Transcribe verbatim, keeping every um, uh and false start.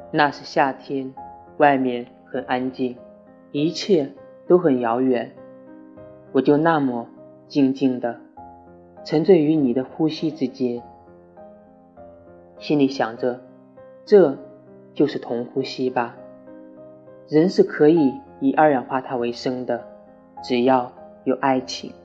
那是夏天，外面很安静，一切都很遥远，我就那么静静地沉醉于你的呼吸之间，心里想着，这就是同呼吸吧。人是可以以二氧化碳为生的，只要有爱情。